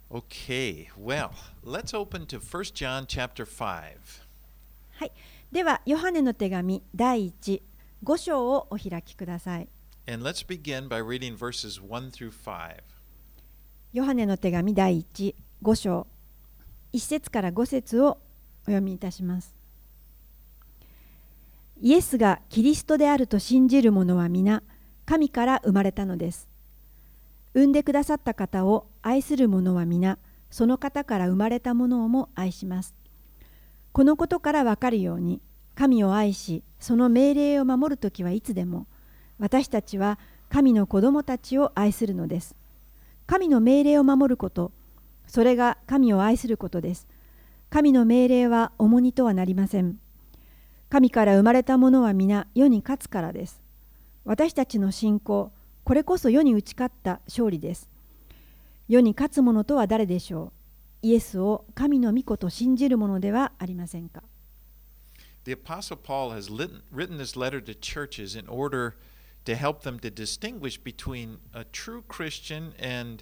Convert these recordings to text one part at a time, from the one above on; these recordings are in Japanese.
Okay, well, let's open to 1 John chapter 5. はい、ではヨハネの手紙第5章をお開きください。 And let's begin by reading verses 1 through 5. ヨハネの手紙第5章1節から5節をお読みいたします。イエスがキリストであると信じる者は皆神から生まれたのです。産んでくださった方を愛する者は皆その方から生まれたものをも愛します。このことからわかるように神を愛しその命令を守るときはいつでも私たちは神の子供たちを愛するのです。神の命令を守ること、それが神を愛することです。神の命令は重荷とはなりません。神から生まれたものは皆世に勝つからです。私たちの信仰、これこそ世に打ち勝った勝利です。世に勝つ者とは誰でしょう。イエスを神の御子と信じる者ではありませんか。 The Apostle Paul has written this letter to churches in order to help them to distinguish between a true Christian and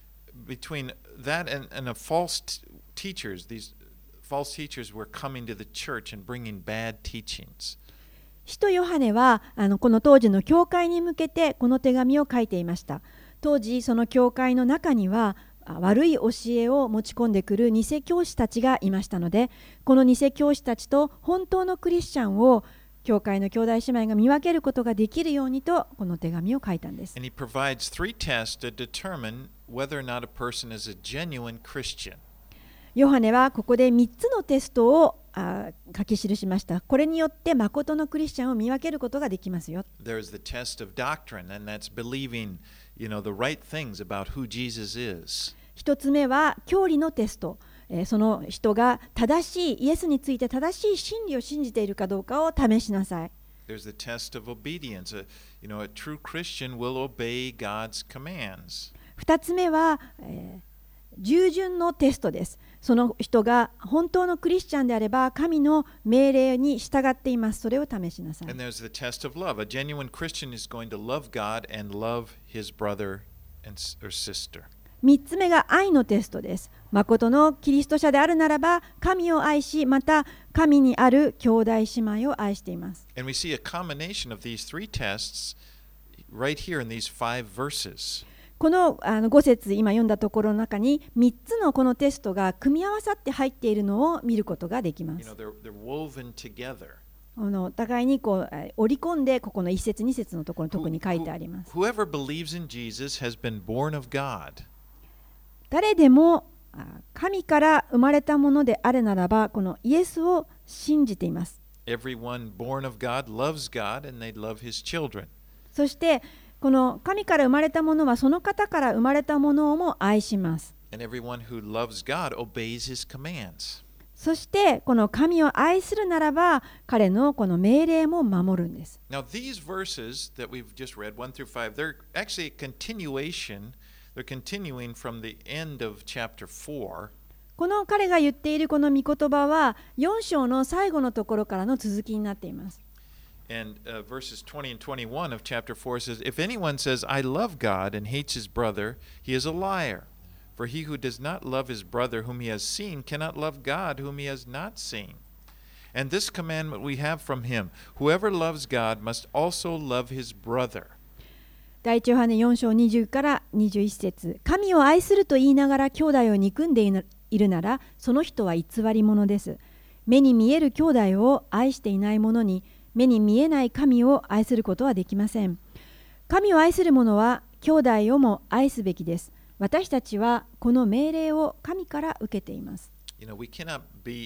between that and a false teachers. These false teachers were coming to the church and bringing bad teachings. 使徒ヨハネはこの当時の教会に向けてこの手紙を書いていました。当時その教会の中には悪い教えを持ち込んでくる偽教師たちがいましたので、この偽教師たちと本当のクリスチャンを教会の兄弟姉妹が見分けることができるようにとこの手紙を書いたんです。 And he provides three tests to determine whether or not a person is a genuine Christian. ヨハネはここで3つのテストを書き記しました。これによって誠のクリスチャンを見分けることができますよ。 There's the test of doctrine, and that's believing, the right things about who Jesus is. 一つ目は教理のテスト。その人が正しいイエスについて正しい真理を信じているかどうかを試しなさい。 There's the test of obedience. A true Christian will obey God's commands. 二つ目は、従順のテストです。その人が本当のクリスチャンであれば神の命令に従っています。それを試しなさい。 And there's the test of love. A genuine Christian is going to love God and love his brother or sister. 三つ目が愛のテストです。誠のキリスト者であるならば神を愛し、また神にある兄弟姉妹を愛しています。 And we see a combination of these three tests right here in these 5 verses. この5節今読んだところの中に3つのこのテストが組み合わさって入っているのを見ることができます。 They're woven together. お互いに織り込んでここの1節2節のところに特に書いてあります。 Whoever believes in Jesus has been born of God. 誰でも神から生まれたものであるならばこのイエスを信じています。 Everyone born of God loves God and they love his children. そしてこの神から生まれたものはその方から生まれたものをも愛します。 And everyone who loves God obeys his commands. そしてこの神を愛するならば彼のこの命令も守るんです。 Now these verses that we've just read, 1 through 5, they're actually a continuation. They're continuing from the end of chapter 4. この彼が言っているこの御言葉は4章の最後のところからの続きになっています。 And verses 20 and 21 of chapter 4 says, If anyone says, I love God and hates his brother, he is a liar. For he who does not love his brother whom he has seen cannot love God whom he has not seen. And this commandment we have from him, whoever loves God must also love his brother. 第一ヨハネ4章20から21節、神を愛すると言いながら兄弟を憎んでいるなら、その人は偽り者です。目に見える兄弟を愛していない者に、目に見えない神を愛することはできません。神を愛する者は兄弟をも愛すべきです。私たちはこの命令を神から受けています。 We cannot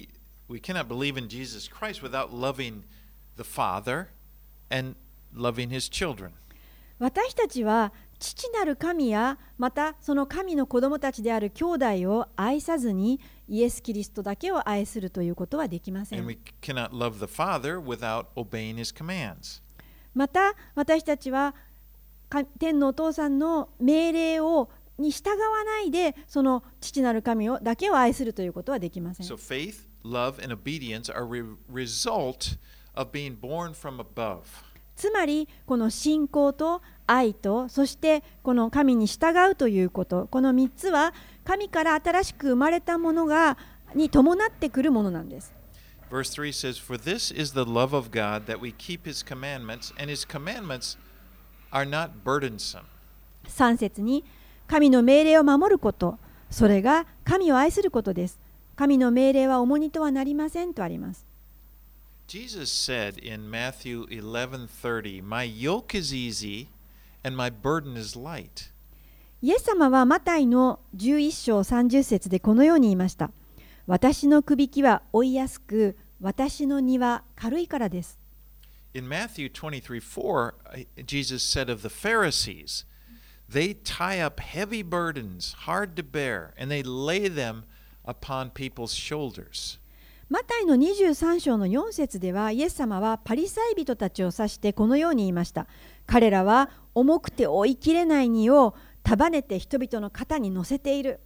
believe in Jesus Christ without loving the Father and loving his children. 私たちは父なる神やまたその神の子供たちである兄弟を愛さずにイエス・キリストだけを愛するということはできません。 And we cannot love the Father without obeying his commands. また私たちは天のお父さんの命令に従わないでその父なる神だけを愛するということはできません。 So faith, love, and obedience are a result of being born from above. つまりこの信仰と愛と、そしてこの神に従うということ、この3つは神から新しく生まれたものに伴ってくるものなんです。 Verse 3 says, For this is the love of God, that we keep his commandments, and his commandments are not burdensome. 3節に、神の命令を守ること、それが神を愛することです。神の命令は重荷とはなりませんとあります。 Jesus said in Matthew 11:30, My yoke is easy, and my burden is light. イエス様はマタイの11章30節でこのように言いました。私のくびきは負いやすく、私の荷は軽いからです。 In Matthew 23:4, Jesus said of the Pharisees, They tie up heavy burdens, hard to bear, and they lay them upon people's shoulders. マタイの23章の4節では、イエス様はパリサイ人たちを指してこのように言いました。彼らは重くて追いきれない荷を束ねて人々の肩に乗せている。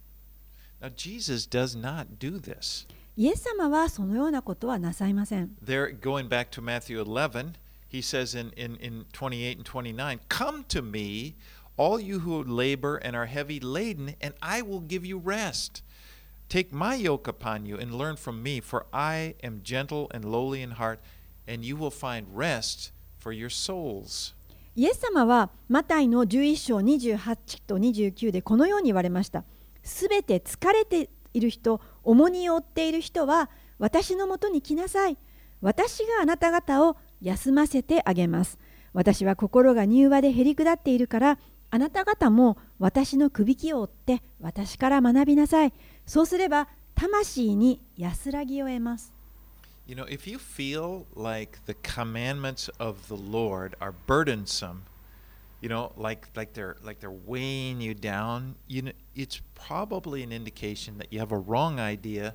Now, Jesus does not do this. イエス様はそのようなことはなさいません。 There, going back to Matthew 11, he says in 28 and 29, Come to me, all you who labor and are heavy laden, and I will give you rest. Take my yoke upon you and learn from me, for I am gentle and lowly in heart, and you will find rest for your souls. イエス様はマタイの11章28と29でこのように言われました。すべて疲れている人、重荷を負っている人は私のもとに来なさい。私があなた方を休ませてあげます。私は心が柔和でへりくだっているから、あなた方も私のくびきを追って私から学びなさい。そうすれば魂に安らぎを得ます。 You know, if you feel like the commandments of the Lord are burdensome, you know, like they're weighing you down, it's probably an indication that you have a wrong idea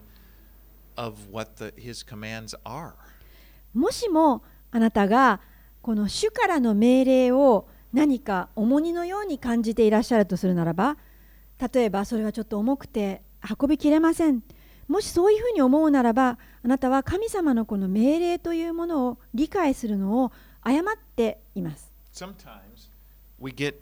of what his commands are. もしもあなたがこの主からの命令を何か重荷のように感じていらっしゃるとするならば、例えばそれはちょっと重くて運びきれません。もしそういうふうに思うならば、あなたは神様のこの命令というものを理解するのを誤っています。 Sometimes we get,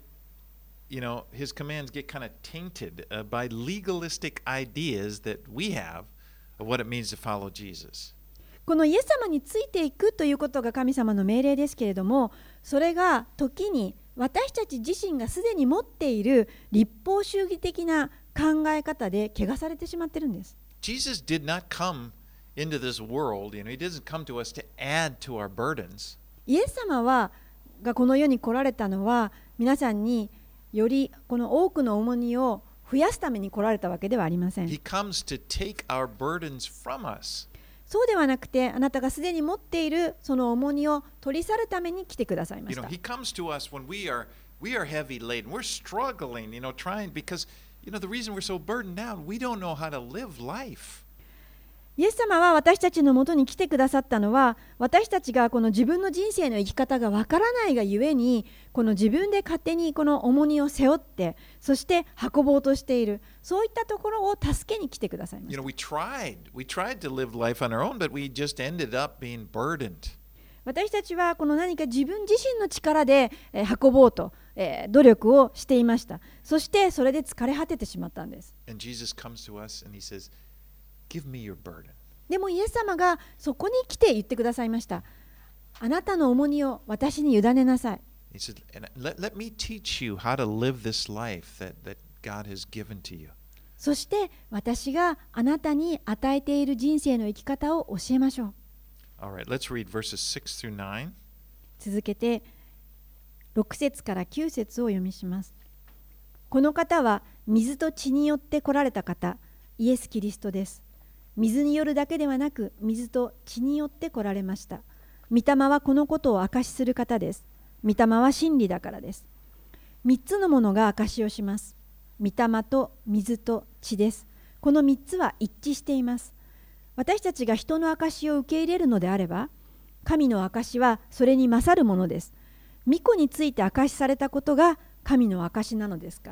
you know, his commands get kind of tainted by legalistic ideas that we have of what it means to follow Jesus. このイエス様についていくということが神様の命令ですけれども、それが時に私たち自身がすでに持っている立法主義的な考え方で汚されてしまっているんです。 Jesus did not come into this world, you know, he doesn't come to us to add to our burdens. イエス様がこの世に来られたのは、皆さんによりこの多くの重荷を増やすために来られたわけではありません。 He comes to take our burdens from us. そうではなくて、あなたがすでに持っているその重荷を取り去るために来てくださいま You し know, た。 he comes to us when we are heavy laden. We're struggling, you know, trying because, you know, the reason we're so burdened down, we don't know how to live life. イエス様は私たちのもとに来てくださったのは、私たちがこの自分の人生の生き方がわからないがゆえに、この自分で勝手にこの重荷を背負って、そして運ぼうとしている、そういったところを助けに来てくださいまし You た。 know, we tried to live life on our own, but we just ended up being burdened. 私たちはこの何か自分自身の力で運ぼうと努力をしていました。そしてそれで疲れ果ててしまったんです。 And Jesus comes to us and he says, Give me your burden. でもイエス様がそこに来て言ってくださいました。あなたの重荷を私に委ねなさい。 He said, let me teach you how to live this life that God has given to you. そして私があなたに与えている人生の生き方を教えましょう。 All right, let's read verses 6 through 9. 続けて6節から9節を読みします。この方は水と血によって来られた方、イエス・キリストです。水によるだけではなく、水と血によって来られました。御霊はこのことを証しする方です。御霊は真理だからです。3つのものが証しをします。御霊と水と血です。この3つは一致しています。私たちが人の証しを受け入れるのであれば、神の証しはそれに勝るものです。御子について証しされたことが神の証しなのですから。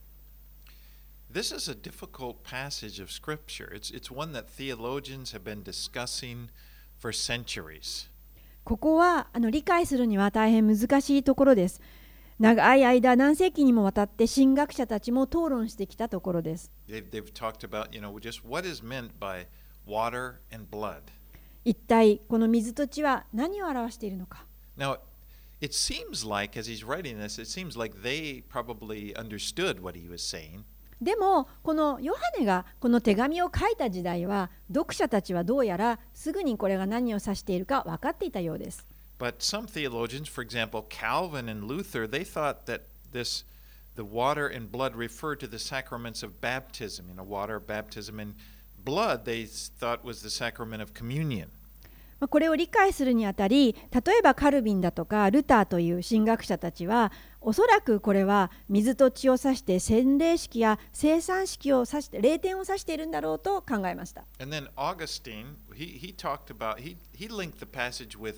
This is a difficult passage of Scripture. It's one that theologians have been discussing for centuries. ここは理解するには大変難しいところです。 長い間、何世紀にもわたって神学者たちも討論してきたところです。 They've talked about, just what is meant by water and blood. 一体この水と血は何を表しているのか。 Now, it seems like, as he's writing this, it seems like they probably understood what he was saying. でもこのヨハネがこの手紙を書いた時代は、読者たちはどうやらすぐにこれが何を指しているか分かっていたようです。 But some theologians, for example, Calvin and Luther, they thought that the water and blood referred to the sacraments of baptism. Water, baptism, and blood, they thought was the sacrament of communion. これを理解するにあたり、例えばカルビンだとかルターという神学者たちは、おそらくこれは水と血を指して洗礼式や聖餐式を指して霊典を指しているんだろうと考えました。 And then Augustine, he talked about, he linked the passage with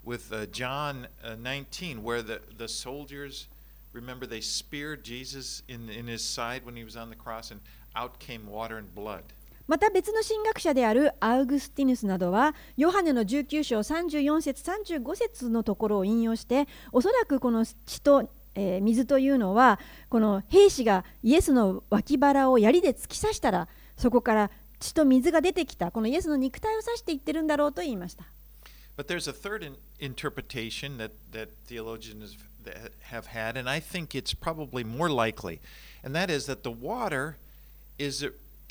John 19, where the soldiers, remember they speared Jesus in his side when he was on the cross, and out came water and blood. また別の神学者であるアウグスティヌスなどは、ヨハネの19章34節35節のところを引用して、おそらくこの血と、水というのは、この兵士がイエスの脇腹を槍で突き刺したら、そこから血と水が出てきた、このイエスの肉体を指していってるんだろうと言いました。 But there's a third interpretation that theologians have had, and I think it's probably more likely, and that is that the water is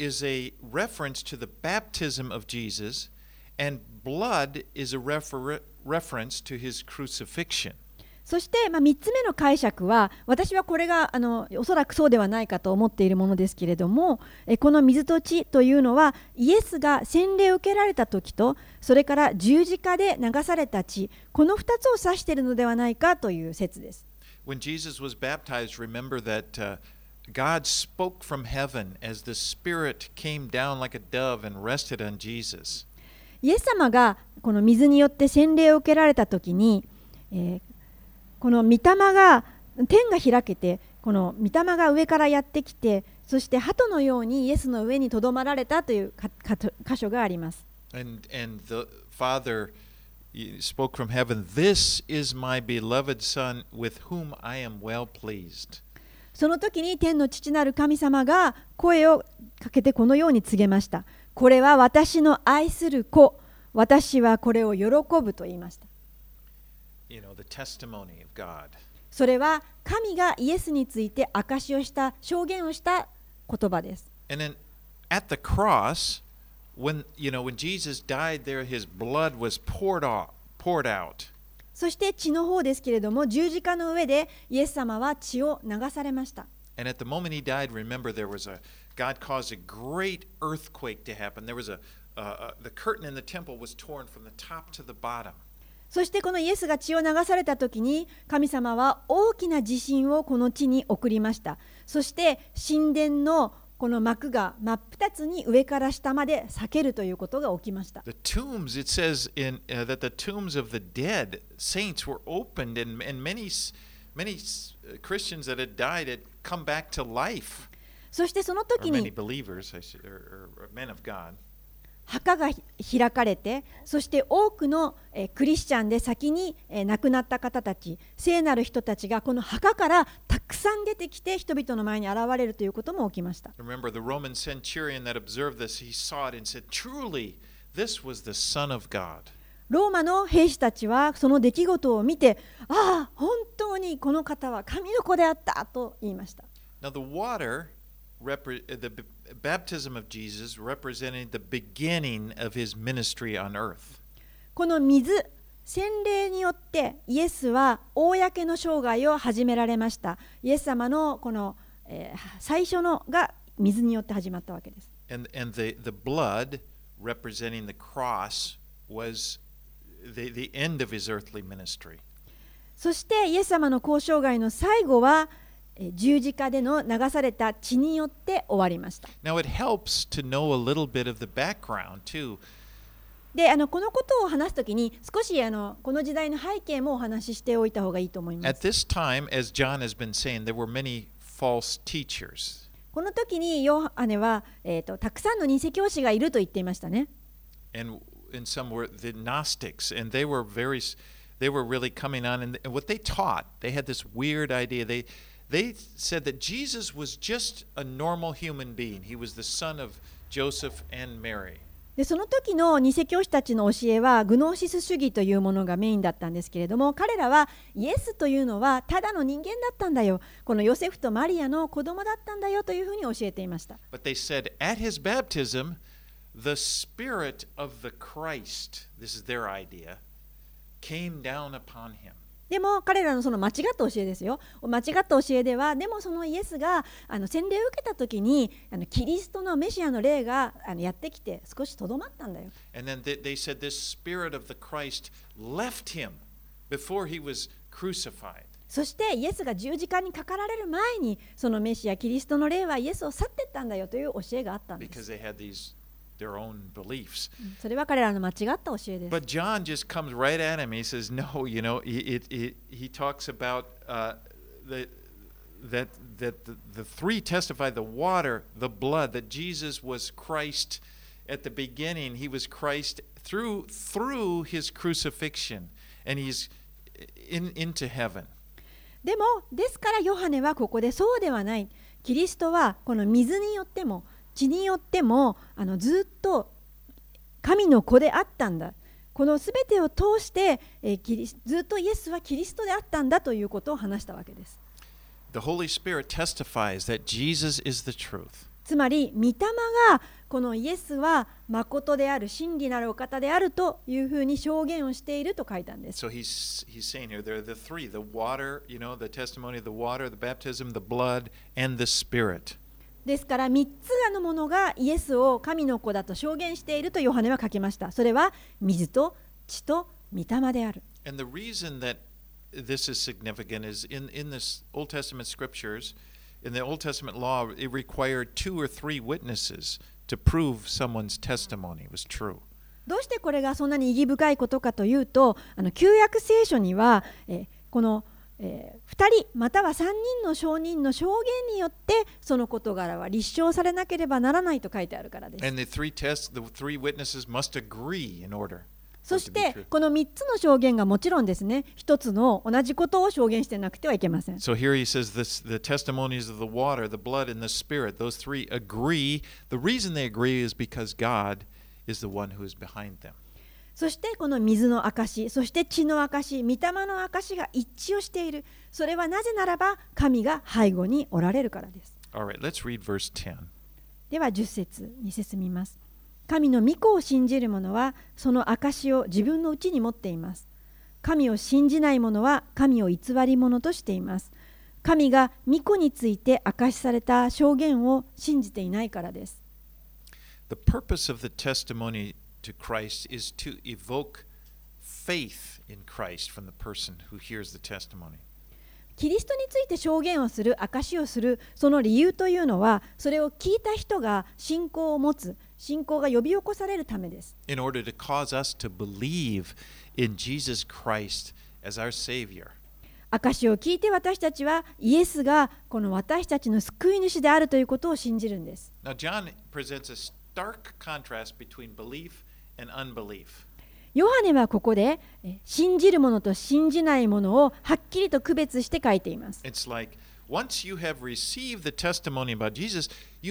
a reference to the baptism of Jesus, and blood is a reference to his crucifixion. そして、3つ目の解釈は、私はこれがおそらくそうではないかと思っているものですけれども、この水と血というのはイエスが洗礼を受けられた時と、それから十字架で流された血、この2つを指しているのではないかという説です。 When Jesus was baptized, remember that God spoke from heaven as the Spirit came down like a dove and rested on Jesus. イエス様がこの水によって洗礼を受けられた時に、この御霊が天が開けて、この御霊が上からやってきて、そして鳩のようにイエスの上にとどまられたという箇所があります。 And the Father spoke from heaven, "This is my beloved Son, with whom I am well pleased." その時に天の父なる神様が声をかけてこのように告げました。これは私の愛する子、私はこれを喜ぶと言いました。 The testimony of God. それは神がイエスについて証しをした証言をした言葉です。 And then at the cross, when Jesus died there, his blood was poured out. そして血の方ですけれども、十字架の上でイエス様は血を流されました。 And at the moment he died, remember God caused a great earthquake to happen. There was the curtain in the temple was torn from the top to the bottom. そしてこのイエスが血を流された時に、神様は大きな地震をこの地に送りました。そして神殿のこの幕が真っ二つに上から下まで裂けるということが起きました。 The tombs, it says that the tombs of the dead saints were opened, and many Christians that had died had come back to life. そしてその時 Or に many believers, or men of God. 墓が開かれて、そして多くのクリスチャンで先に亡くなった方たち、聖なる人たちがこの墓からたくさん出てきて人々の前に現れるということも起きました。 Remember the Roman centurion that observed this, he saw it and said, "Truly, this was the Son of God." ローマの兵士たちはその出来事を見て、ああ、本当にこの方は神の子であったと言いました。 Now the the baptism of Jesus represented the beginning of his ministry on earth. この水、洗礼によってイエスは公の生涯を始められました。イエス様のこの、最初のが水によって始まったわけです。 And the blood representing the cross was the end of his earthly ministry. そしてイエス様の交渉外の最後は十字架での流された血によって終わりました。 Now it helps to know a little bit of the background too. で、このことを話すときに少しこの時代の背景もお話ししておいた方がいいと思います。 At this time, as John has been saying, there were many false teachers. この時にヨハネは、たくさんの偽教師がいると言っていましたね。 And some were the Gnostics, and they they were really coming on, and what they taught, they had this weird idea. They said that Jesus was just a normal human being. He was the son of Joseph and Mary. でその時の偽教師たちの教えはグノーシス主義というものがメインだったんですけれども、彼らはイエスというのはただの人間だったんだよ、このヨセフとマリアの子供だったんだよというふうに教えていました。 But they said at his baptism, the spirit of the Christ, this is their idea, came down upon him. でも彼らのその間違った教えですよ。間違った教えでは、でもそのイエスが洗礼を受けた時にキリストのメシアの霊がやってきて少しとどまったんだよ。 And then they said this spirit of the Christ left him before he was crucified. そしてイエスが十字架にかかられる前にそのメシアキリストの霊はイエスを去っていったんだよという教えがあったんです。 Because they had their own beliefs. それは彼らの間違った教えです。 But John just comes right at him. He says, no, he talks about that the three testify, the water, the blood, that Jesus was Christ at the beginning. He was Christ through his crucifixion, and he's into heaven. でも、ですからヨハネはここでそうではない。キリストはこの水によっても血によってもずっと神の子であったんだ。このすべてを通してずっとイエスはキリストであったんだということを話したわけです。 The Holy Spirit testifies that Jesus is the truth. つまり、御霊がこのイエスは誠である、真理なるお方であるというふうに証言をしていると書いたんです。 So he's saying here, there are the three, the water, the testimony of the water, the baptism, the blood, and the Spirit. ですから3つのものがイエスを神の子だと証言しているとヨハネは書きました。それは水と血と御霊である。 And the reason that this is significant is in this Old Testament scriptures, in the Old Testament law, it required 2 or 3 witnesses to prove someone's testimony was true. どうしてこれがそんなに意義深いことかというと、旧約聖書には、この2人または3人の証人の証言によってその事柄は立証されなければならないと書いてあるからです。 And the three witnesses must agree in order. そしてこの3つの証言がもちろんですね、一つの同じことを証言してなくてはいけません。 So here he says the testimonies of the water, the blood, and the spirit, those three agree. The reason they agree is because God is the one who is behind them. そしてこの水の証、そして血の証、御霊の証が一致をしている。それはなぜならば神が背後におられるからです。 All right, let's read verse 10. では10節に進みます。神の御子を信じる者はその証を自分のうちに持っています。神を信じない者は神を偽り者としています。神が御子について証しされた証言を信じていないからです。 The purpose of the testimony to Christ is to evoke faith in Christ from the person who hears the testimony. キリストについて証言をする、証しをする、その理由というのは、それを聞いた人が信仰を持つ、信仰が呼び起こされるためです。 In order to cause us to believe in Jesus Christ as our Savior. 証しを聞いて私たちはイエスがこの私たちの救い主であるということを信じるんです。 Now John presents a stark contrast between belief and unbelief. ヨハネはここで信じる者と信じない者をはっきりと区別して書いています。 It's like once you have received the testimony about Jesus,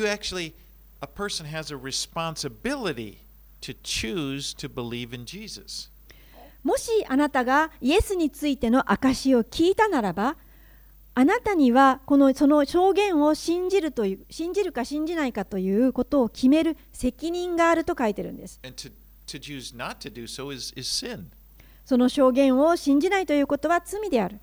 a person has a responsibility to choose to believe in Jesus. もしあなたがイエスについての証しを聞いたならば、あなたにはその証言を信じるか信じないかということを決める責任があると書いてるんです。 To choose not to do so is sin. その証言を信じないということは罪である。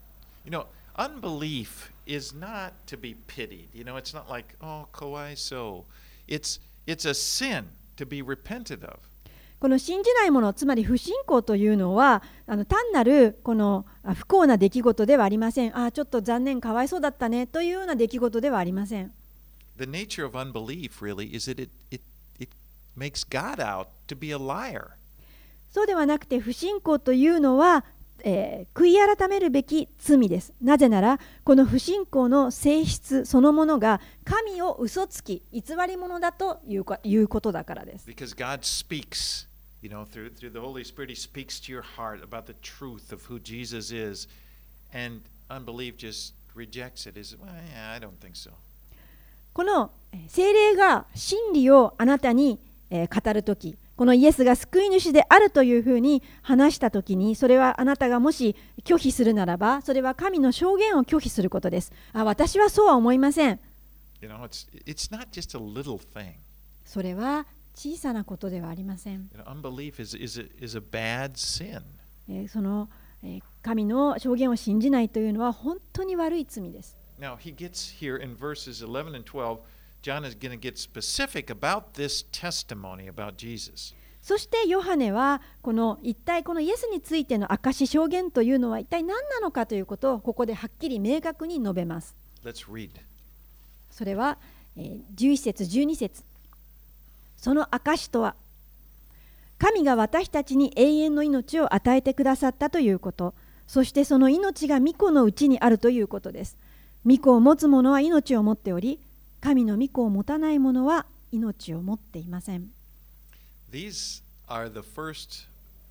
Unbelief is not to be pitied. It's not like, oh, kawaii so. It's a sin to be repented of. この信じないもの、つまり不信仰というのは、単なるこの不幸な出来事ではありません。ちょっと残念、かわいそうだったねというような出来事ではありません。 The nature of unbelief really is that it makes God out to be a liar. そうではなくて、不信仰というのは、悔い改めるべき罪です。なぜなら、この不信仰の性質そのものが神を嘘つき、偽り者だということだからです。 Because God speaks You know, through the Holy Spirit, He speaks to your heart about the truth of who Jesus is, and unbelief just rejects it. Is well, yeah, I don't think so. この聖霊が真理をあなたに語るとき、このイエスが救い主であるというふうに話したときに、それはあなたがもし拒否するならば、それは神の証言を拒否することです。私はそうは思いません。 You know, it's not just a little thing. それは小さなことではありません。 You know, unbelief is a bad sin. その神の証言を信じないというのは本当に悪い罪です。 Now, he gets here in verses 11 and 12, John is going to get specific about this testimony about Jesus. そしてヨハネは一体このイエスについての証し証言というのは一体何なのかということをここではっきり明確に述べます。 Let's read. それは11節12節。その証とは、神が私たちに永遠の命を与えてくださったということ、そしてその命が御子のうちにあるということです。御子を持つ者は命を持っており、神の御子を持たない者は命を持っていません。 These are the first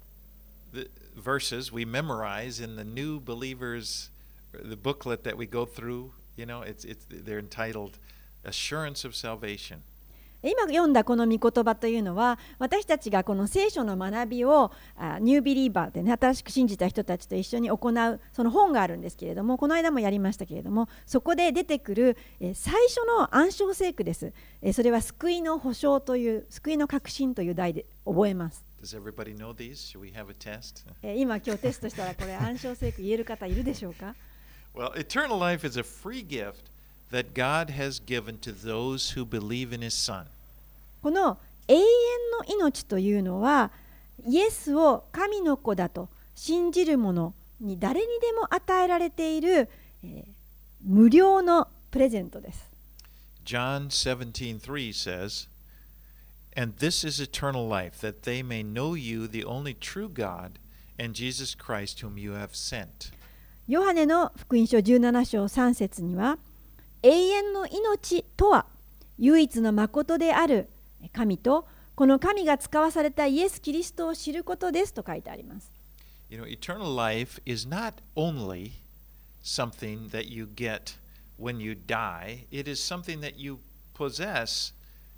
verses we memorize in the new believers, the booklet that we go through. You know, they're entitled Assurance of Salvation. 今読んだこの御言葉というのは、私たちがこの聖書の学びをニュービリーバーでね、新しく信じた人たちと一緒に行うその本があるんですけれども、この間もやりましたけれども、そこで出てくる最初の暗唱聖句です。それは救いの保証という、救いの確信という題で覚えます。 Does everybody know these? Should we have a test? 今日テストしたらこれ暗唱聖句言える方いるでしょうか？ Well, eternal life is a free gift that God has given to those who believe in His Son. この永遠の命というのは、イエスを神の子だと信じる者に誰にでも与えられている、無料のプレゼントです。 John 17:3 says, And this is eternal life, that they may know you, the only true God, and Jesus Christ, whom you have sent. ヨハネの福音書17章3節には、永遠の命とは唯一の誠である神とこの神が使わされたイエス・キリストを知ることですと書いてあります。 You know, eternal life is not only something that you get when you die, it is something that you possess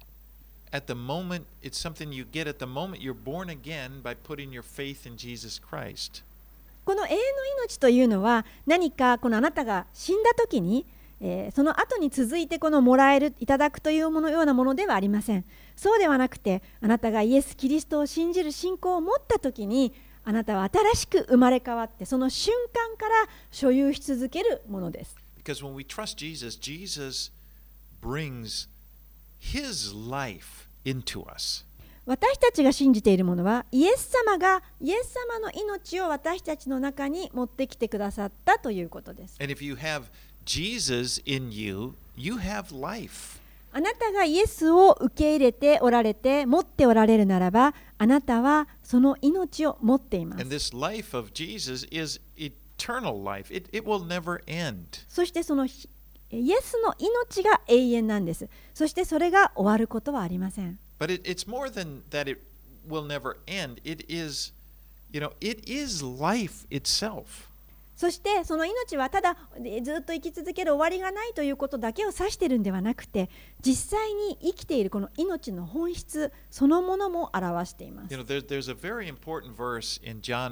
at the moment, it's something you get at the moment you're born again by putting your faith in Jesus Christ. この永遠の命というのは何かこのあなたが死んだ時にその後に続いてこのもらえるいただくというようなものではありません。そうではなくて、あなたがイエス・キリストを信じる信仰を持ったときに、あなたは新しく生まれ変わって、その瞬間から所有し続けるものです。 Because when we trust Jesus, Jesus brings His life into us. 私たちが信じているものは、イエス様がイエス様の命を私たちの中に持ってきてくださったということです。 And if you have Jesus in you, you have life. あなたがイエスを受け入れておられて持っておられるならば、あなたはその命を持っています。 And this life of Jesus is eternal life. It will never end. そしてそのイエスの命が永遠なんです。そしてそれが終わることはありません。 But it's more than that it will never end. It is, you know, it is life itself. そしてその命はただずっと生き続ける終わりがないということだけを指しているんではなくて、実際に生きているこの命の本質そのものも表しています。 You know, there's a very important verse in John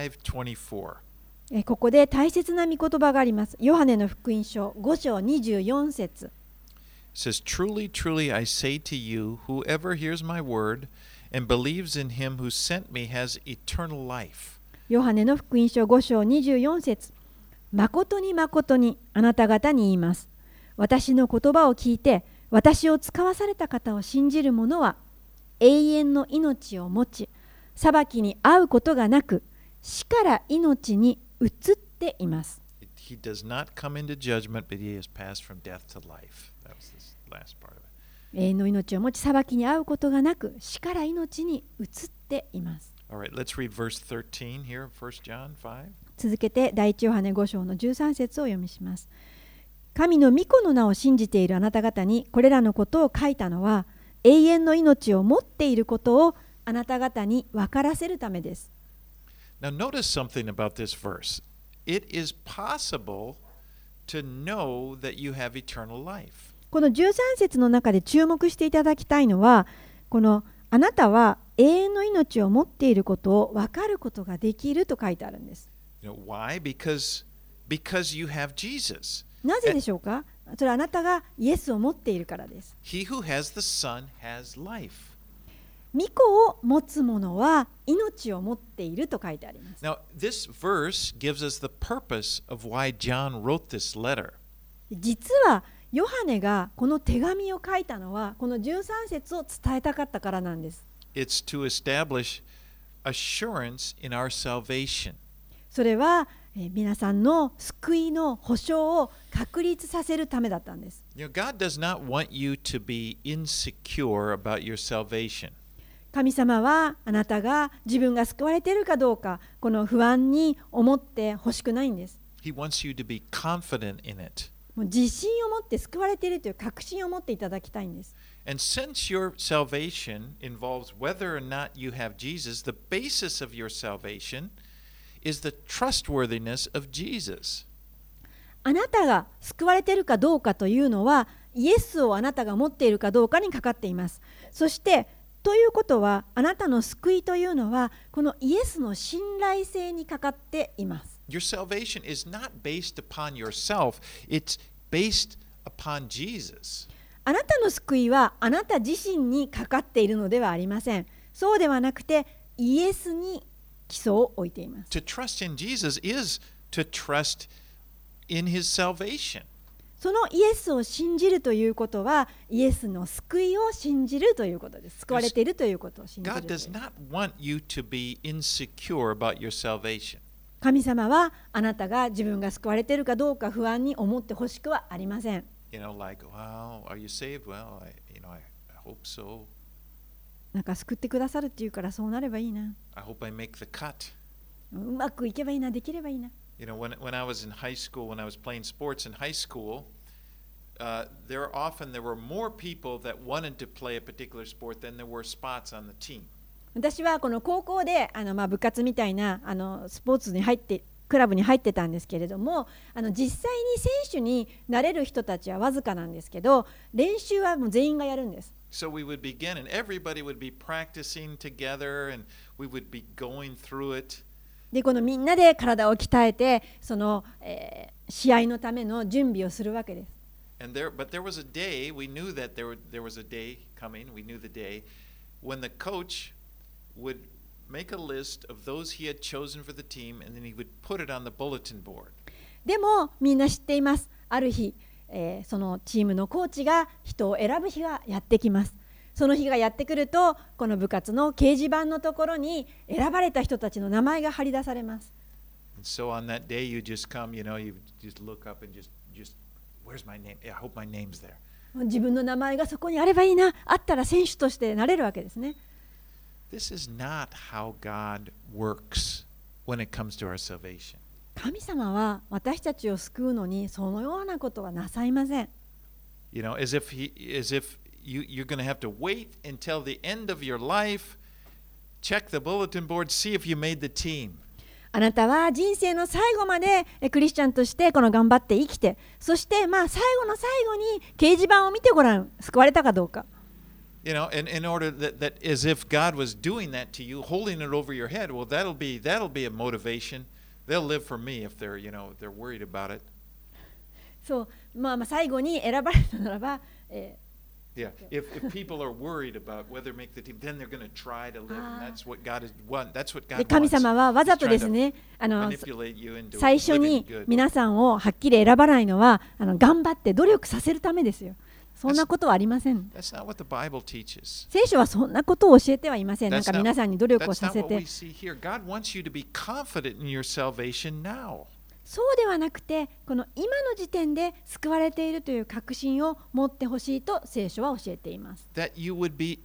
5:24. ここで大切な御言葉があります。ヨハネの福音書5章24節。 It says, Truly, truly, I say to you, whoever hears my word and believes in him who sent me has eternal life. ヨハネの福音書5章24節。誠に誠にあなた方に言います。私の言葉を聞いて、私を使わされた方を信じる者は、永遠の命を持ち、裁きに遭うことがなく、死から命に移っています。 He does not come into judgment, but he has passed from death to life. That was the last part of it. 永遠の命を持ち、裁きに遭うことがなく、死から命に移っています。 All right, let's read verse 13 here, 1 John 5. 続けて第一ヨハネ5章の13節をお読みします。神の御子の名を信じているあなた方にこれらのことを書いたのは、永遠の命を持っていることをあなた方に分からせるためです。 Now, notice something about this verse. It is possible to know that you have eternal life. この13節の中で注目していただきたいのは、このあなたは永遠の命を持っていることを分かることができると書いてあるんです。 Why? Because you have Jesus. なぜでしょうか？それはあなたがイエスを持っているからです。 He who has the Son has life. 御子を持つ者は命を持っていると書いてあります。 Now, this verse gives us the purpose of why John wrote this letter. 実はヨハネがこの手紙を書いたのはこの13節を伝えたかったからなんです。 It's to establish assurance in our salvation. それは皆さんの救いの保証を確立させるためだったんです。 God does not want you to be insecure about your salvation. 神様はあなたが自分が救われているかどうかこの不安に思ってほしくないんです。 He wants you to be confident in it. もう自信を持って救われているという確信を持っていただきたいんです。 And since your salvation involves whether or not you have Jesus, the basis of your salvation is the trustworthiness of Jesus. あなたが救われているかどうかというのはイエスをあなたが持っているかどうかにかかっています。そしてということはあなたの救いというのはこのイエスの信頼性にかかっています。 Your salvation is not based upon yourself, it's based upon Jesus. あなたの救いはあなた自身にかかっているのではありません。そうではなくてイエスに基礎を置いています。 To trust in Jesus is to trust in his salvation. そのイエスを信じるということはイエスの救いを信じるということです。救われているということを信じる。 God does not want you to be insecure about your salvation. 神様はあなたが自分が救われているかどうか不安に思ってほしくはありません。 Like, well, are you saved? Well, I hope so. なんか救ってくださるっていうからそうなればいいな。 I hope I make the cut. うまくいけばいいな、できればいいな。 When I was in high school, when I was playing sports in high school, there were more people that wanted to play a particular sport than there were spots on the team. 私はこの高校で部活みたいなスポーツに入ってクラブに入ってたんですけれども実際に選手になれる人たちはわずかなんですけど練習はもう全員がやるんです。 So we would begin and everybody would be practicing together and we would be going through it. でこのみんなで体を鍛えてその、試合のための準備をするわけです。 But there was a day, we knew that there was a day coming, we knew the day, when the coach would make a list of those he had chosen for the team and then he would put it on the bulletin board. でもみんな知っています。ある日、そのチームのコーチが人を選ぶ日がやってきます。その日がやってくるとこの部活の掲示板のところに選ばれた人たちの名前が貼り出されます。 And so on that day you just come, you just look up and just where's my name? I hope my name's there. 自分の名前がそこにあればいいな、あったら選手としてなれるわけですね。 This is not how God works when it comes to our salvation. 神様は私たちを救うのにそのようなことはなさいません。 As if you're going to have to wait until the end of your life, check the bulletin board, see if you made the team. あなたは人生の最後までクリスチャンとしてこの頑張って生きて、そして最後の最後に掲示板を見てごらん、救われたかどうか。 In order that as if God was doing that to you, holding it over your head, well, that'll be a motivation. They'll live for me if they're worried about it. そう、最後に選ばれたならば、 Yeah, if people are worried about whether to make the team, then they're going to try to live, and that's what God is want. That's what God wants. 神様はわざとですね、最初に皆さんをはっきり選ばないのは頑張って努力させるためですよ。そんなことはありません。 That's not what the Bible teaches. 聖書はそんなことを教えてはいません。なんか皆さんに努力をさせ That's not what て we。see here. God wants you to be confident in your salvation now. そうではなくて、この今の時点で救われているという確信を持ってほしいと聖書は教えています。 That your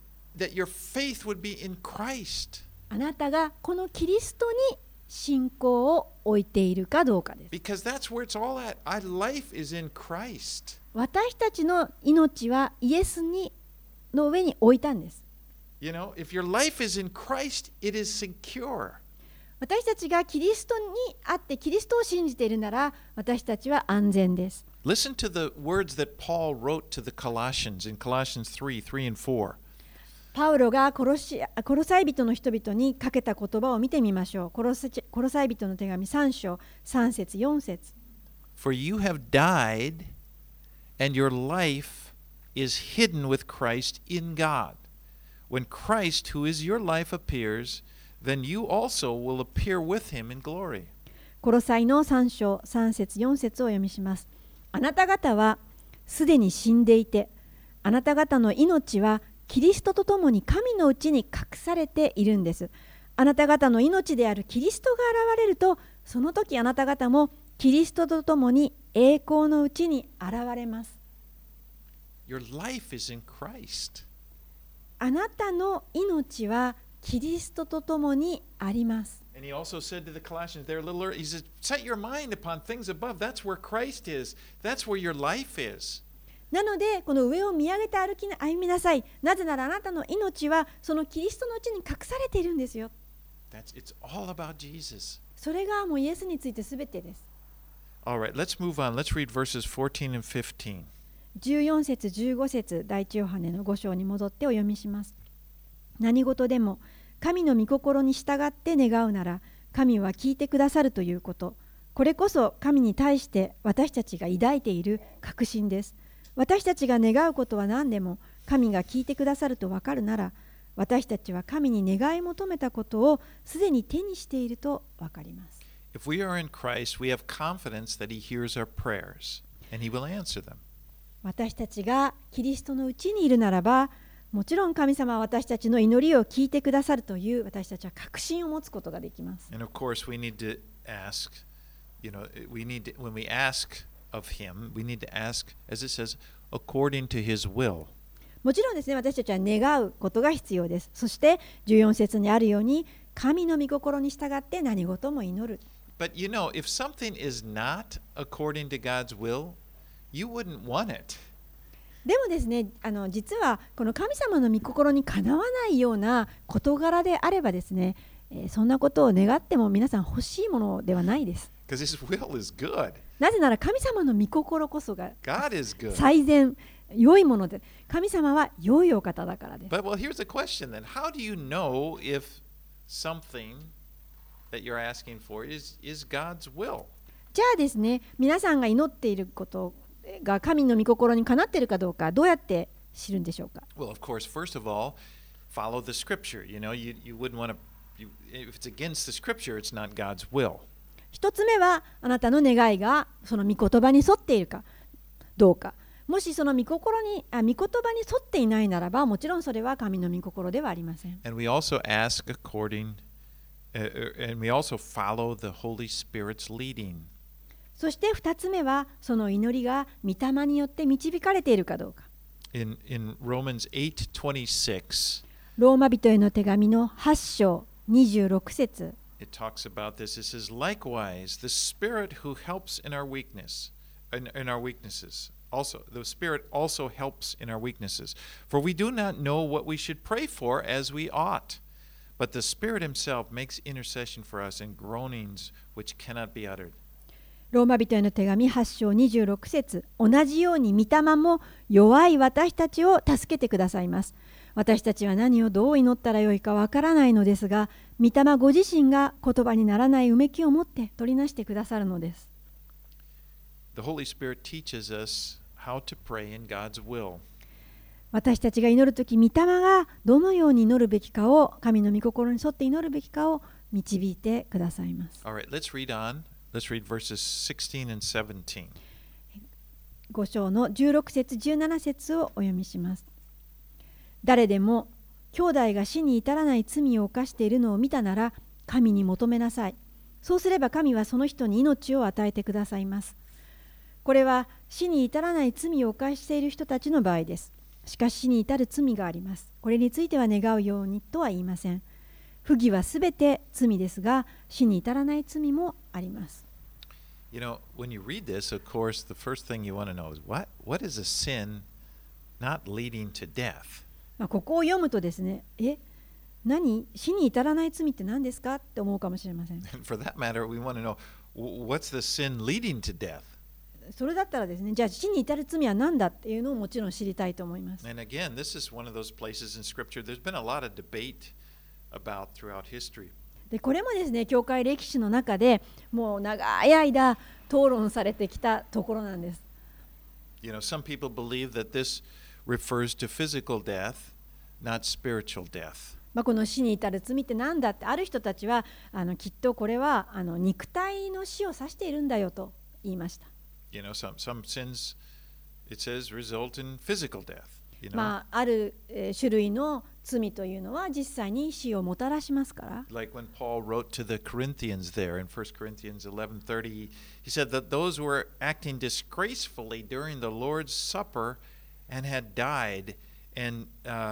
faith would be in Christ. あなたがこのキリストに信仰を置いているかどうかです。 Because that's where it's all at. Our life is in Christ. 私たちの命はイエスの上に置いたんです。 You know, if your life is in Christ, it is secure. 私たちがキリストにあってキリストを信じているなら私たちは安全です。 Listen to the words that Paul wrote to the Colossians in Colossians 3 and 4. パウロがコロサイ人の人々にかけた言葉を見てみましょう。コロサイ人の手紙3章3節4節 For you have died, and your life is hidden with Christ in God. When Christ, who is your life, appears, then you also will appear with him in glory. コロサイの3章3節4節を読みします。あなた方はすでに死んでいて、あなた方の命はキリストとともに神のうちに隠されているんです。あなた方の命であるキリストが現れると、その時あなた方もキリストとともに栄光のうちに現れます。 Your life is in Christ. あなたの命はキリストとともにあります。 And he also said to the Colossians there a little earlier, he said, set your mind upon things above. That's where Christ is. That's where your life is. なので、この上を見上げて歩みなさい。なぜならあなたの命はそのキリストのうちに隠されているんですよ。 It's all about Jesus. それがもうイエスについてすべてです。 All right, let's move on. Let's read verses 14 and 15. 14節15節第一ヨハネの5章に戻ってお読みします。何事でも神の御心に従って願うなら神は聞いてくださるということ。これこそ神に対して私たちが抱いている確信です。私たちが願うことは何でも神が聞いてくださると分かるなら、私たちは神に願い求めたことをすでに手にしていると分かります。 If we are in Christ, we have confidence that He hears our prayers and He will answer them. 私たちがキリストのうちにいるならば、もちろん神様は私たちの祈りを聞いてくださるという私たちは確信を持つことができます。 And of course, we need to ask, when we ask of Him, we need to ask, as it says, according to His will. もちろんですね、私たちは願うことが必要です。そして14節にあるように、神の御心に従って何事も祈る。 But you know, if something is not according to God's will, you wouldn't want it. でもですね、実はこの神様の御心にかなわないような事柄であればですね、そんなことを願っても皆さん欲しいものではないです。 Because His will is good. なぜなら神様の御心こそが God is good. 最善、良いもので、神様は良いお方だからです。 But well, here's the question then. How do you know if something that you're asking for is God's will? じゃあですね、皆さんが祈っていることが神の御心にかなっているかどうか、どうやって知るんでしょうか。 Well, of course, first of all, follow the scripture. You know, you wouldn't want to, if it's against the scripture, it's not God's will. 一つ目はあなたの願いがその御言葉に沿っているかどうか。もしその御言葉に沿っていないならば、もちろんそれは神の御心ではありません。 And we also ask according, and we also follow the Holy Spirit's leading. そして2つ目はその祈りが御霊によって導かれているかどうか。 In Romans 8:26, ローマ人への手紙の8章26節。 it talks about this. It says, likewise, the Spirit who helps in our weaknesses. Also, the Spirit also helps in our weaknesses. For we do not know what we should pray for as we ought. But the Spirit Himself makes intercession for us in groanings which cannot be uttered. ローマ人への手紙8章26節。同じように御霊も弱い私たちを助けてくださいます。私たちは何をどう祈ったらよいかわからないのですが、御霊ご自身が言葉にならないうめきを持って取りなしてくださるのです。 The Holy Spirit teaches us how to pray in God's will. 私たちが祈るとき、御霊がどのように祈るべきかを、神の御心に沿って祈るべきかを導いてくださいます。 All right, let's read on. Let's read verses 16 and 17. 5章の16節17節をお読みします。誰でも兄弟が死に至らない罪を犯しているのを見たなら神に求めなさい。そうすれば神はその人に命を与えてくださいます。これは死に至らない罪を犯している人たちの場合です。しかし死に至る罪があります。これについては願うようにとは言いません。不義はすべて罪ですが、死に至らない罪もあります。 You know, when you read this, of course, the first thing you want to know is what is a sin not leading to death? ここを読むとですね、死に至らない罪って何ですかって思うかもしれません。 And for that matter, we want to know what's the sin leading to death? それだったらですね、じゃあ死に至る罪は何だっていうのをもちろん知りたいと思います。 And again, this is one of those places in Scripture there's been a lot of debate about throughout history. でこれもですね、教会歴史の中でもう長い間討論されてきたところなんです。 You know, some people believe that this refers to physical death, not spiritual death. この死に至る罪って何だって、ある人たちはきっとこれは肉体の死を指しているんだよと言いました。 You know, some sins, it says, result in physical death. You know? ある種類の罪というのは実際に死をもたらしますから。 Like when Paul wrote to the Corinthians there in 1 Corinthians 11:30, he said that those who were acting disgracefully during the Lord's Supper and had died, and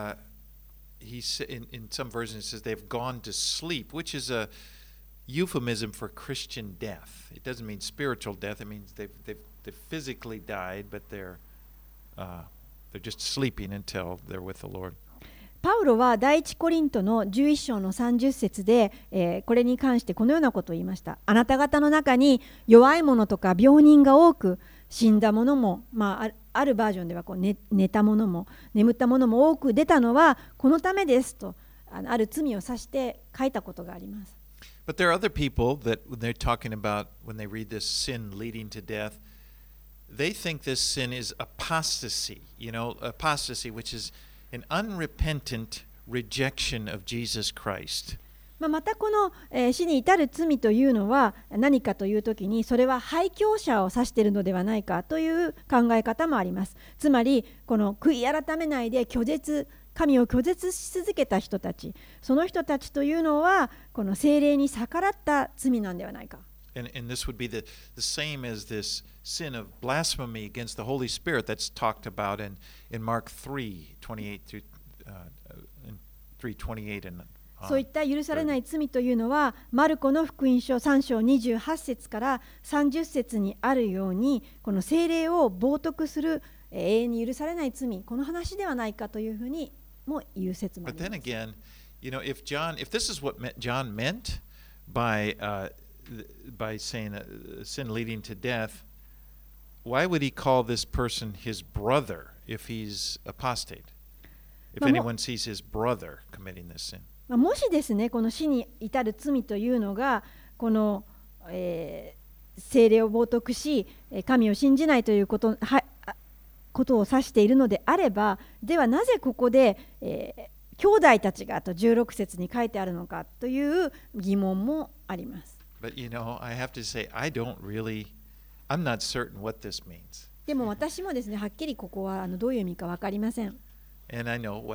in some versions it says they've gone to sleep, which is a euphemism for Christian death. It doesn't mean spiritual death. It means they've physically died, but they're just sleeping until they're with the Lord. パウロは第一コリントの11章の30節で、これに関してこのようなことを言いました。あなた方の中に弱い者とか病人が多く、死んだ者も、あるバージョンでは寝た者も眠った者も多く出たのはこのためですと、ある罪を指して書いたことがあります。 But there are other people that when they're talking about, when they read this sin leading to death, they think this sin is apostasy, apostasy, which is an unrepentant rejection of Jesus Christ. またこの、死に至る罪というのは何かというときに、それは廃教者を指しているのではないかという考え方もあります。つまりこの悔い改めないで神を拒絶し続けた人たち、その人たちというのはこの聖霊に逆らった罪なんではないか。 And this would be the same as this sin of blasphemy against the Holy Spirit that's talked about in Mark 3:28 through 3:28 and そういった許されない罪というのは、マルコの福音書3章28節から30節にあるように、この聖霊を冒涜する永遠に許されない罪、この話ではないかというふうにも言う説もあります。 But then again, if this is what John meant by saying sin leading to death, why would he call this person his brother if he's apostate? If anyone sees his brother committing this sin. もしですね、この死に至る罪というのがこの、聖霊を冒涜し神を信じないということを指しているのであれば、ではなぜここで、兄弟たちがと16節に書いてあるのかという疑問もあります。 But I have to say, I'm not certain what this means. でも私もですね、はっきりここはどういう意味か分かりません。 And I know,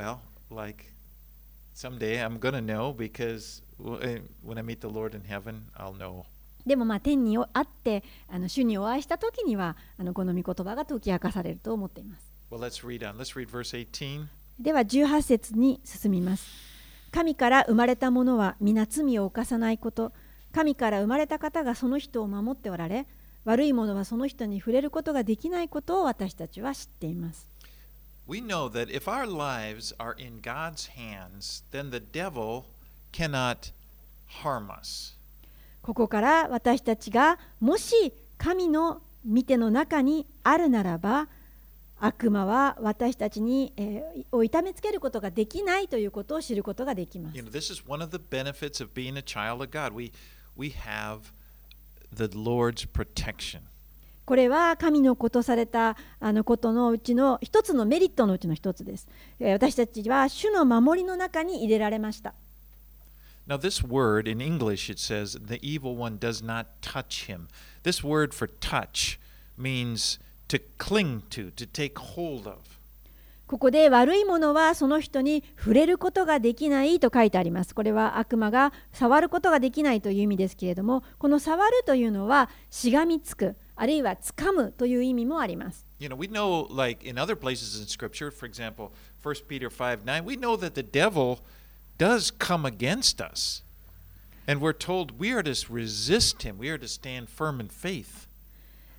someday I'm going to know because when I meet the Lord in heaven, I'll know. でも天にあって主にお会いしたときにはこの御言葉が解き明かされると思っています。 Well, let's read on. Let's read verse 18. では18節に進みます。神から生まれた者は皆罪を犯さないこと、神から生まれた方がその人を守っておられ、悪い者はその人に触れることができないことを私たちは知っています。 We know that if our lives are in God's hands, then the devil cannot harm us. ここから私たちがもし神の御手の中にあるならば、悪魔は私たちに、を痛めつけることができないということを知ることができます。 This is one of the benefits of being a child of God. We have the Lord's protection. これは神のことされたことのうちの一つのメリットのうちの一つです。私たちは主の守りの中に入れられました。 Now, this word in English, it says, the evil one does not touch him. This word for touch means to cling to take hold of. ここで悪いものはその人に触れることができないと書いてあります。これは悪魔が触ることができないという意味ですけれども、この触るというのはしがみつく、あるいは掴むという意味もあります。 We know, like in other places in Scripture, for example, 1 Peter 5:9, we know that the devil does come against us. And we're told we are to resist him. We are to stand firm in faith.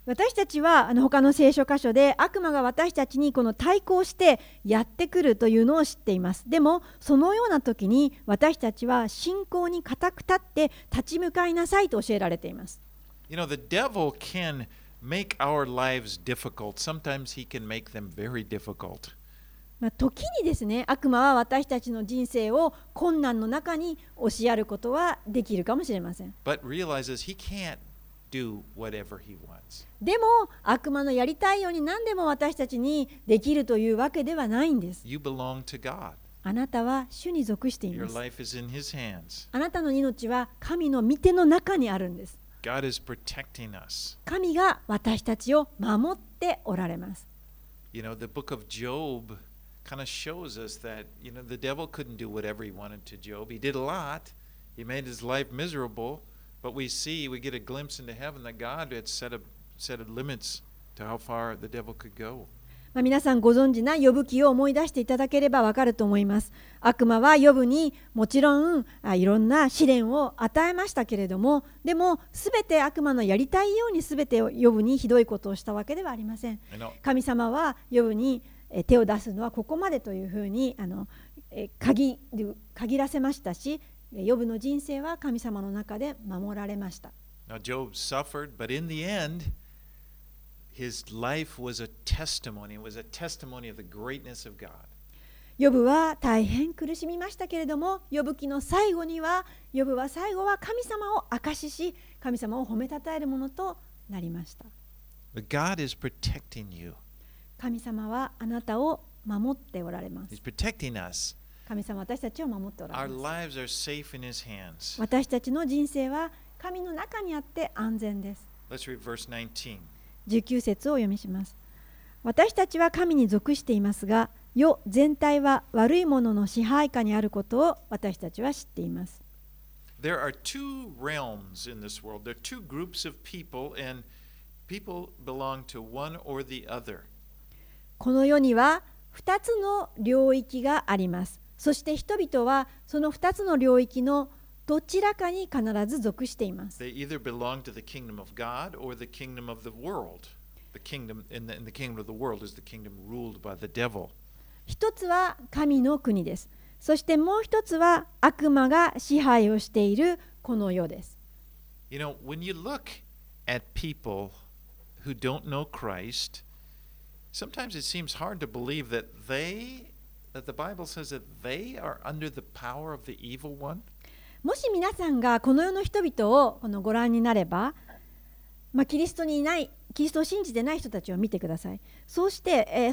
私たちは他の聖書箇所で悪魔が私たちにこの対抗してやってくるというのを知っています。でもそのような時に私たちは信仰に固く立って立ち向かいなさいと教えられています。 You know, the devil can make our lives difficult. Sometimes he can make them very difficult. 時にですね、悪魔は私たちの人生を困難の中に押しやることはできるかもしれません。 But realizes he can't do whatever he wants. でも悪魔のやりたいように何でも私たちにできるというわけではないんです。 You belong to God. あなたは主に属してい Your ます。 life is in his hands. あなたの命は神の御手の中にあるんです。 God is protecting us. 神が私たちを守っておられます。 You know, the book of Job kind of shows us that, you know, the devil couldn't do whatever he wanted to Job. He did a lot. He made his life miserable. But we get a glimpse into heaven that God had set limits to how far the devil could go. 皆さんご存知なヨブ記を思い出していただければわかると思います。悪魔はヨブにもちろんいろんな試練を与えましたけれども、でもすべて悪魔のやりたいようにすべてヨブにひどいことをしたわけではありません。神様はヨブに手を出すのはここまでというふうに限らせましたし、ヨブの人生は神様の中で守られました。 Now Job suffered, but in the end, his life was a testimony. It was a testimony of the greatness of God. ヨブは大変苦しみましたけれども、ヨブ記の最後には、ヨブは最後は神様を証しし、神様を褒めたたえるものとなりました。 But God is protecting you. 神様はあなたを守っておられます。 He's protecting us. 神様は私たちを守っておられ Our ます。 lives are safe in his hands. 私たちの人生は神の中にあって安全です。 Let's read verse 19. 19節をお読みします。私たちは神に属していますが、世全体は悪いものの支配下にあることを私たちは知っています。 There are two realms in this world. There are two groups of people, and people belong to one or the other. この世には2つの領域があります。そして人々はその2つの領域のどちらかに必ず属しています。 They either belong to the kingdom of God or the kingdom of the world. The kingdom in the kingdom of the world is the kingdom ruled by the devil. 一つは神の国です。そしてもう一つは悪魔が支配をしているこの世です。 You know, when you look at people who don't know Christ, sometimes it seems hard to believe that the Bible says that they are under the power of the evil one. もし皆さんがこの世の人々をご覧になれば、キリストにいない、キリストを信じてない人たちを見てください。そうして、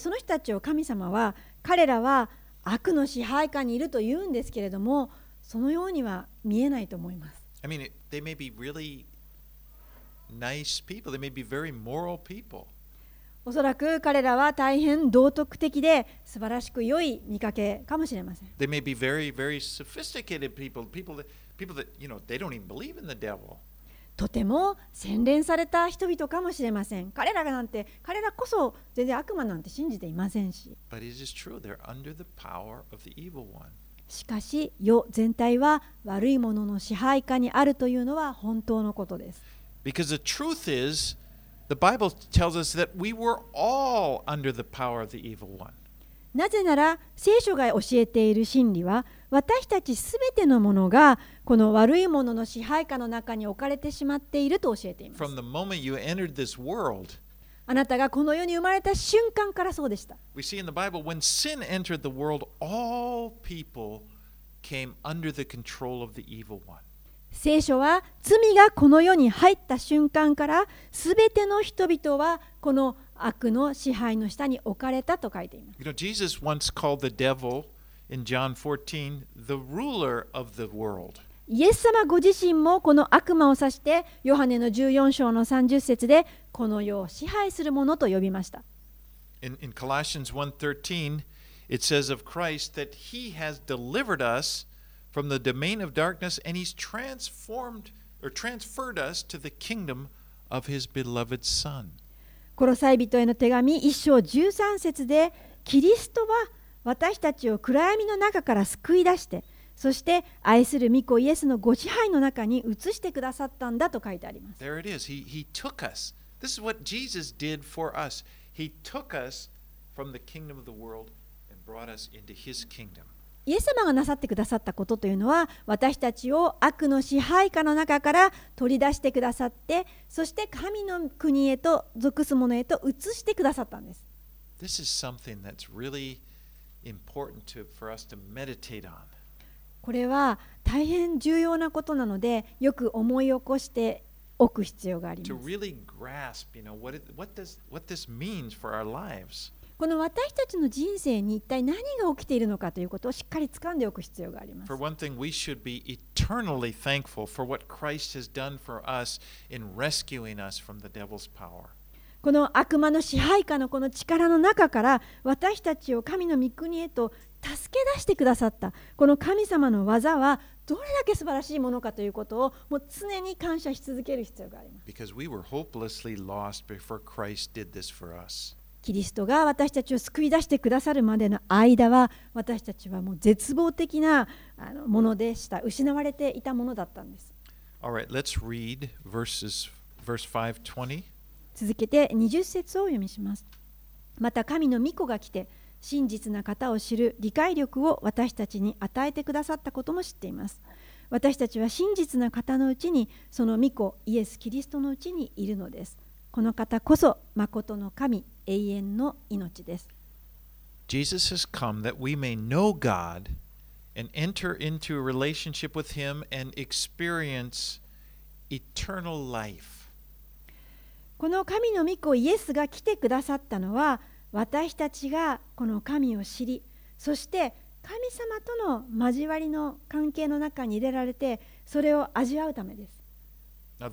その人たちを神様は、彼らは悪の支配下にいると言うんですけれども、そのようには見えないと思います。 I mean, they may be really nice people. They may be very moral people. おそらく彼らは大変道徳的で素晴らしく良い見かけかもしれません。 They may be very, very sophisticated people, people that, you know, they don't even believe in the devil. とても洗練された人々かもしれません。彼らこそ全然悪魔なんて信じていませんし。 But it is true, they're under the power of the evil one. しかし、世全体は悪いものの支配下にあるというのは本当のことです。 Because the truth is, the Bible tells us that we were all under the power of the evil one. なぜなら、聖書が教えている真理は、私たちすべてのものがこの悪いものの支配下の中に置かれてしまっていると教えています。 From the moment you entered this world, あなたがこの世に生まれた瞬間からそうでした。 we see in the Bible, when sin entered the world, all people came under the control of the evil one. 聖書は罪がこの世に入った瞬間からすべての人々はこの悪の支配の下に置かれたと書いています。 You know, Jesus once called the devil in John 14 the ruler of the world. イエス様ご自身もこの悪魔を指してヨハネの14章の30節でこの世を支配するものと呼びました。 In Colossians 1:13, it says of Christ that he has delivered us from the domain of darkness and he's transferred us to the kingdom of his beloved Son. コロサイ人への手紙1章13節でキリストは私たちを暗闇の中から救い出してそして愛する御子イエスのご支配の中に移してくださったんだと書いてあります。 There it is. He took us This is what Jesus did for us. He took us from the kingdom of the world and brought us into his kingdom. イエス様がなさってくださったことというのは、私たちを悪の支配下の中から取り出してくださって、そして神の国へと属す者へと移してくださったんです。 This is something that's really important for us to meditate on. これは大変重要なことなので、よく思い起こしておく必要があり To ます。 really grasp, what this means for our lives. この私たちの人生に一体何が起きているのかということをしっかり掴んでおく必要があります。 For one thing, we should be eternally thankful for what Christ has done for us in rescuing us from the devil's power. この悪魔の支配下のこの力の中から私たちを神の御国へと助け出してくださったこの神様の技はどれだけ素晴らしいものかということをもう常に感謝し続ける必要があります。 Because we were hopelessly lost before Christ did this for us. キリストが私たちを救い出してくださるまでの間は私たちはもう絶望的なものでした。失われていたものだったんです。 All right, let's read verse 5:20. 続けて20節を読みします。また神の御子が来て真実な方を知る理解力を私たちに与えてくださったことも知っています。私たちは真実な方のうちにその御子イエス・キリストのうちにいるのです。この方こそ誠の神、永遠の命です。 Jesus has come that we may know God and enter into a relationship with him and experience eternal life. この神の御子イエスが来てくださったのは私たちがこの神を知り、そして神様との交わりの関係の中に入れられてそれを味わうためです。 Now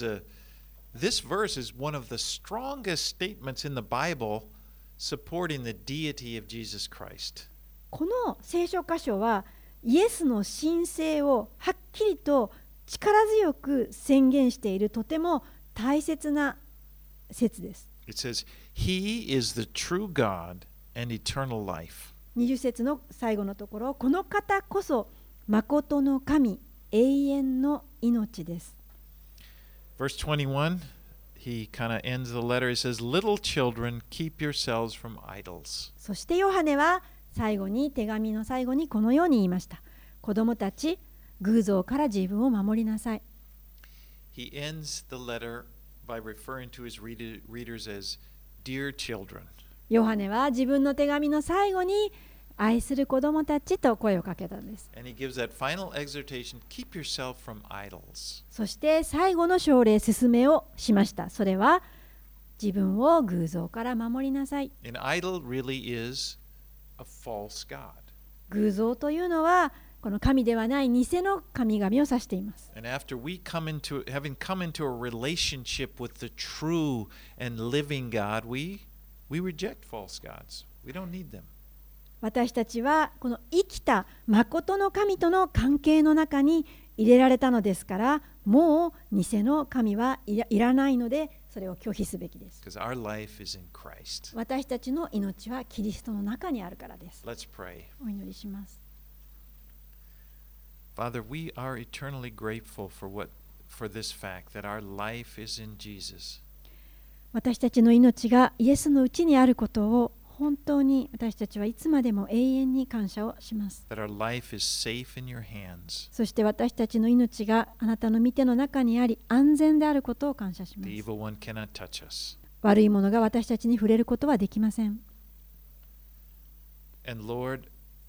this verse is one of the strongest statements in the Bible supporting the deity of Jesus Christ. この聖書箇所はイエスの神性をはっきりと力強く宣言しているとても大切な説です。 It says, He is the true God and eternal life. 20節の最後のところ、この方こそ誠の神、永遠の命です。 Verse 21, he kind of ends the letter. He says, Little children, keep yourselves from idols. そしてヨハネは最後に手紙の最後にこのように言いました。子供たち、偶像から自分を守りなさい。 He ends the letter by referring to his readers as dear children. ヨハネは自分の手紙の最後に愛する子供たちと声をかけたんです。 And he gives that final exhortation, keep yourself from idols. そして最後の奨励、勧めをしました。それは自分を偶像から守りなさい。 An idol really is a false god. 偶像というのはこの神ではない偽の神々を指しています。 And after having come into a relationship with the true and living God, we reject false gods. We don't need them. 私たちはこの生きた誠の神との関係の中に入れられたのですから、もう偽の神はいらないので、それを拒否すべきです。 Because our life is in Christ. 私たちの命はキリストの中にあるからです。 Let's pray. お祈りします。 Father, we are eternally grateful for this fact that our life is in Jesus. 私たちの命がイエスのうちにあることを本当に私たちはいつまでも永遠に感謝をします。 That our life is safe in your hands. そして私たちの命があなたの御手の中にあり安全であることを感謝しま The す。 evil one cannot touch us. 悪いものが私たちに触れることはできません。 And Lord,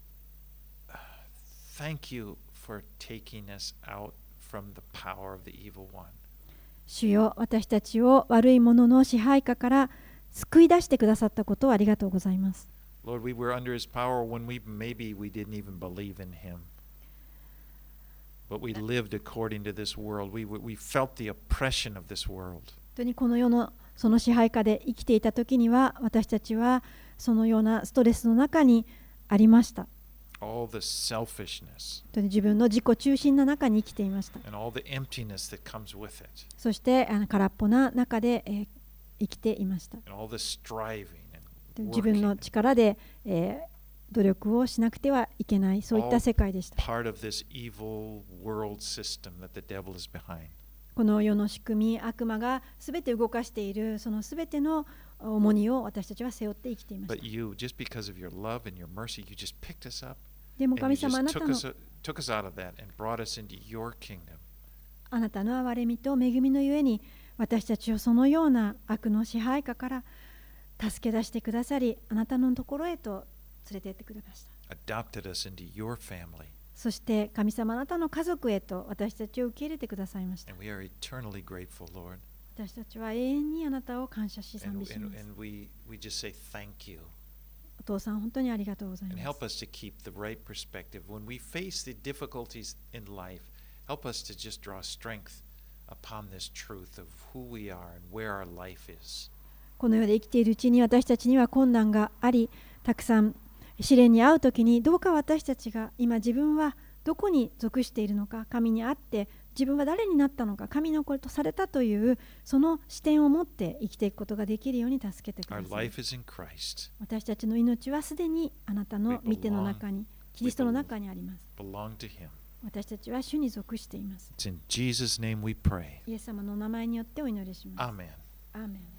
thank you for taking us out from the power of the evil one. 主よ、私たちを悪いものの支配下から救い出してくださったことをありがとうございます。 Lord, we were under his power when maybe we didn't even believe in him. But we lived according to this world. We felt the oppression of this world. 本当にこの世のその支配下で生きていた時には私たちはそのようなストレスの中にありました。 All the selfishness 本当に自分の自己中心な中に生きていました。 and all the emptiness that comes with it. そして空っぽな中で、生きていました。 And all the striving and 自分の working. 力で、努力をしなくてはいけない、そういった世界でした。 Part of this evil world system that the devil is behind. この世の仕組み、悪魔がすべて動かしているそのすべての重荷を私たちは背負って生きていました。 But you, just because of your love and your mercy, you just picked us up でも and you 神様、 just took us out of that and brought us into your kingdom. あなたの憐れみと恵みのゆえに私たちをそのような悪の支配下から助け出してくださり、あなたのところへと連れて行ってくれました。 Adopted us into your family. そして神様、あなたの家族へと私たちを受け入れてくださいました。 And we are eternally grateful, Lord. 私たちは永遠にあなたを感謝し賛美します。 And we just say thank you. お父さん、本当にありがとうござい And ます。 help us to keep the right perspective. When we face the difficulties in life, help us to just draw strength upon this truth of who we are and where our life is. この世で生きているうちに私たちには困難があり、たくさん試練に遭うときに、どうか私たちが今自分はどこに属しているのか、神にあって自分は誰になったのか、神の子とされたというその視点を持って生きていくことができるように助けてくだ Our さい。 life is in Christ. 私たちの命はすでにあなたの御手の中に、キリストの中にあります。 Belong to Him. 私たちは主に属しています。 It's in Jesus' name we pray. イエス様の名前によってお祈りします。 Amen. アーメン。